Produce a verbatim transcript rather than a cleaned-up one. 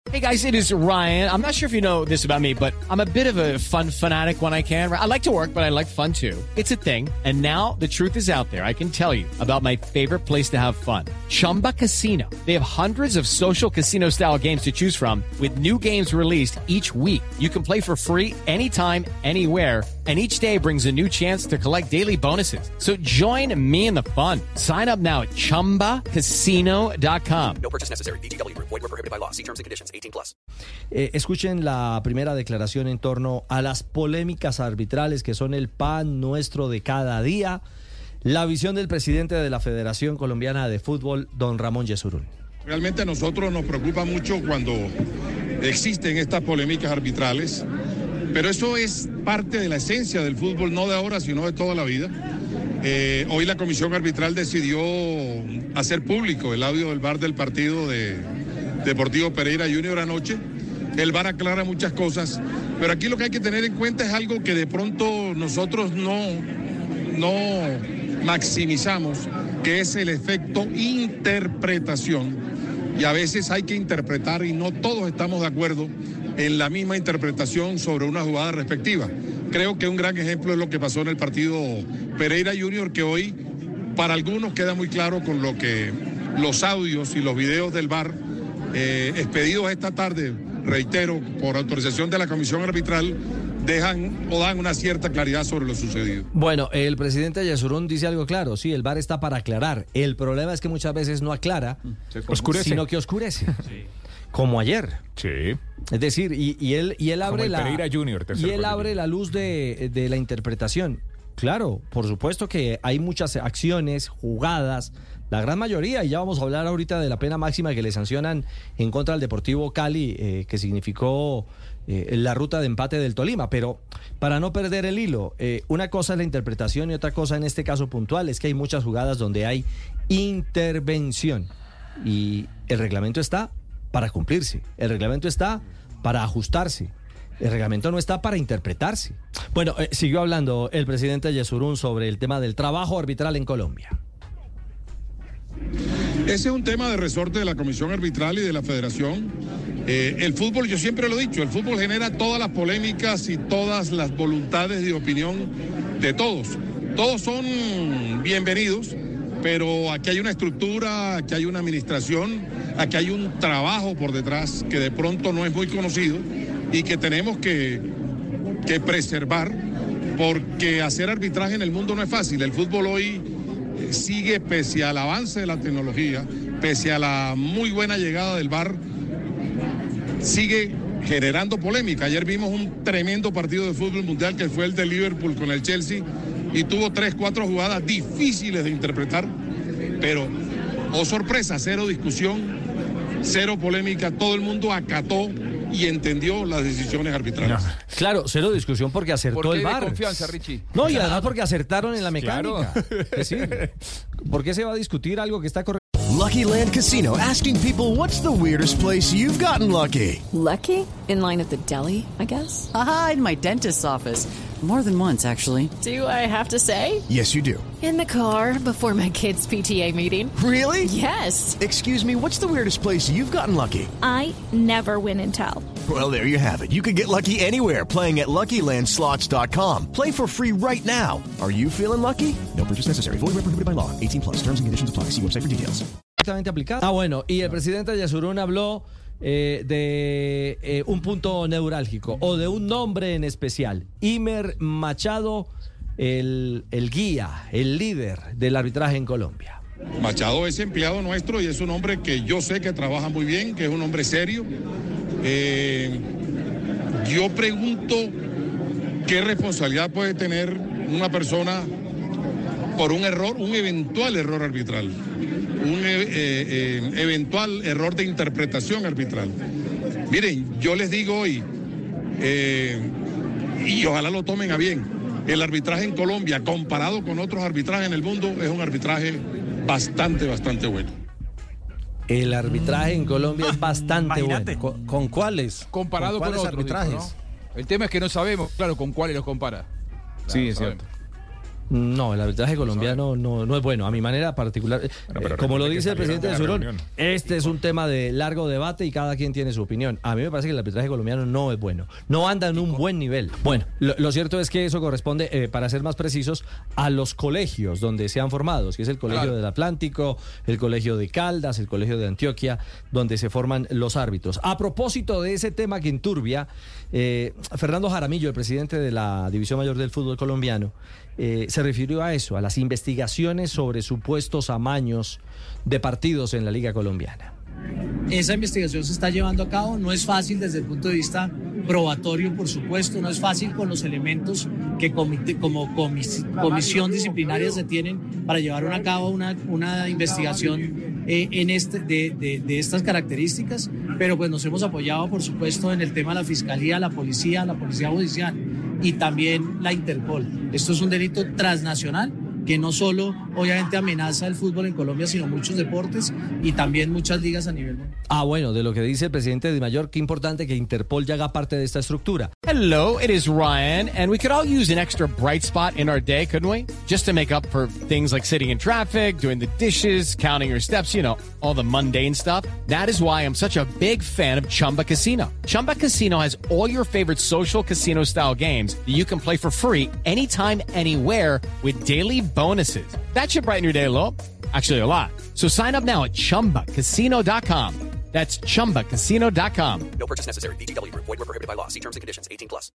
Hey guys, it is Ryan. I'm not sure if you know this about me, but I'm a bit of a fun fanatic when I can. I like to work, but I like fun too. It's a thing. And now the truth is out there. I can tell you about my favorite place to have fun. Chumba Casino. They have hundreds of social casino style games to choose from with new games released each week. You can play for free anytime, anywhere. And each day brings a new chance to collect daily bonuses. So join me in the fun. Sign up now at chumba casino dot com. No purchase necessary. V G W. Void where prohibited by law. See terms and conditions. eighteen plus. Eh, escuchen la primera declaración en torno a las polémicas arbitrales que son el pan nuestro de cada día. La visión del presidente de la Federación Colombiana de Fútbol, don Ramón Yesurún. Realmente a nosotros nos preocupa mucho cuando existen estas polémicas arbitrales, pero eso es parte de la esencia del fútbol, no de ahora, sino de toda la vida. Eh, hoy la comisión arbitral decidió hacer público el audio del V A R del partido de Deportivo Pereira Junior anoche. El V A R aclara muchas cosas, pero aquí lo que hay que tener en cuenta es algo que de pronto nosotros no, no maximizamos, que es el efecto interpretación. Y a veces hay que interpretar y no todos estamos de acuerdo en la misma interpretación sobre una jugada respectiva. Creo que un gran ejemplo es lo que pasó en el partido Pereira Junior, que hoy para algunos queda muy claro con lo que los audios y los videos del V A R eh, expedidos esta tarde, reitero, por autorización de la comisión arbitral, dejan o dan una cierta claridad sobre lo sucedido. Bueno, el presidente Yesurún dice algo claro, sí, el V A R está para aclarar. El problema es que muchas veces no aclara, oscurece. sino que oscurece. Sí. Como ayer. Sí. Es decir, y, y él y él abre Como el la Pereira Junior, y él abre la luz de, de la interpretación. Claro, por supuesto que hay muchas acciones, jugadas, la gran mayoría, y ya vamos a hablar ahorita de la pena máxima que le sancionan en contra del Deportivo Cali, eh, que significó eh, la ruta de empate del Tolima, pero para no perder el hilo, eh, una cosa es la interpretación y otra cosa en este caso puntual es que hay muchas jugadas donde hay intervención y el reglamento está para cumplirse, el reglamento está para ajustarse. El reglamento no está para interpretarse. Bueno, eh, siguió hablando el presidente Yesurún sobre el tema del trabajo arbitral en Colombia. Ese es un tema de resorte de la comisión arbitral y de la federación. Eh, el fútbol, yo siempre lo he dicho, el fútbol genera todas las polémicas y todas las voluntades de opinión de todos. Todos son bienvenidos, pero aquí hay una estructura, aquí hay una administración, aquí hay un trabajo por detrás que de pronto no es muy conocido y que tenemos que, que preservar, porque hacer arbitraje en el mundo no es fácil. El fútbol hoy sigue, pese al avance de la tecnología, pese a la muy buena llegada del V A R, sigue generando polémica. Ayer vimos un tremendo partido de fútbol mundial que fue el de Liverpool con el Chelsea y tuvo tres, cuatro jugadas difíciles de interpretar, pero, oh sorpresa, cero discusión, cero polémica, todo el mundo acató y entendió las decisiones arbitrales. No. Claro, cero discusión porque acertó ¿Por qué el V A R. de confianza, Richie? No, y además porque acertaron en la mecánica. Claro. Es decir, ¿por qué se va a discutir algo que está correcto? Lucky Land Casino, asking people, what's the weirdest place you've gotten lucky? Lucky? In line at the deli, I guess? Aha, in my dentist's office. More than once, actually. Do I have to say? Yes, you do. In the car before my kids' P T A meeting. Really? Yes. Excuse me, what's the weirdest place you've gotten lucky? I never win and tell. Well, there you have it. You can get lucky anywhere, playing at Lucky Land Slots dot com. Play for free right now. Are you feeling lucky? No purchase necessary. Void where prohibited by law. eighteen plus. Terms and conditions apply. See website for details. Aplicado. Ah, bueno, y el presidente Yesurún habló eh, de eh, un punto neurálgico o de un nombre en especial. Imer Machado, el, el guía, el líder del arbitraje en Colombia. Machado es empleado nuestro y es un hombre que yo sé que trabaja muy bien, que es un hombre serio. Eh, yo pregunto qué responsabilidad puede tener una persona por un error, un eventual error arbitral, un eh, eh, eventual error de interpretación arbitral. Miren, yo les digo hoy, eh, y ojalá lo tomen a bien, el arbitraje en Colombia, comparado con otros arbitrajes en el mundo, es un arbitraje bastante, bastante bueno. El arbitraje en Colombia es bastante bueno. ¿Con, con cuáles? Comparado ¿Con, con cuáles otros arbitrajes? dijo, ¿no? El tema es que no sabemos, claro, con cuáles los compara. Claro, sí, es sabemos. cierto. No, el arbitraje colombiano no, no es bueno, a mi manera particular. Bueno, pero eh, como lo recuerde que dice el salieron presidente de de la Surón, reunión. este es un tema de largo debate y cada quien tiene su opinión. A mí me parece que el arbitraje colombiano no es bueno, no anda en un buen nivel. Bueno, lo, lo cierto es que eso corresponde, eh, para ser más precisos, a los colegios donde se han formado, que es el Colegio Claro. del Atlántico, el Colegio de Caldas, el Colegio de Antioquia, donde se forman los árbitros. A propósito de ese tema que enturbia, eh, Fernando Jaramillo, el presidente de la División Mayor del Fútbol Colombiano, eh, se refirió a eso, a las investigaciones sobre supuestos amaños de partidos en la Liga Colombiana. Esa investigación se está llevando a cabo, no es fácil desde el punto de vista probatorio, por supuesto, no es fácil con los elementos que comite, como comis, comisión disciplinaria se tienen para llevar a cabo una, una investigación eh, en este, de, de, de estas características, pero pues nos hemos apoyado, por supuesto, en el tema de la Fiscalía, la Policía, la Policía Judicial y también la Interpol. Esto es un delito transnacional que no solo obviamente amenaza el fútbol en Colombia, sino muchos deportes y también muchas ligas a nivel mundial. Ah, bueno, de lo que dice el presidente de Mayor, qué importante que Interpol ya haga parte de esta estructura. Hello, it is Ryan, and we could all use an extra bright spot in our day, couldn't we? Just to make up for things like sitting in traffic, doing the dishes, counting your steps, you know, all the mundane stuff. That is why I'm such a big fan of Chumba Casino. Chumba Casino has all your favorite social casino style games that you can play for free anytime, anywhere with daily bonuses. That should brighten your day a little. Actually, a lot. So sign up now at chumba casino dot com. That's chumba casino dot com. No purchase necessary. V G W Group. Void where prohibited by law. See terms and conditions. eighteen plus.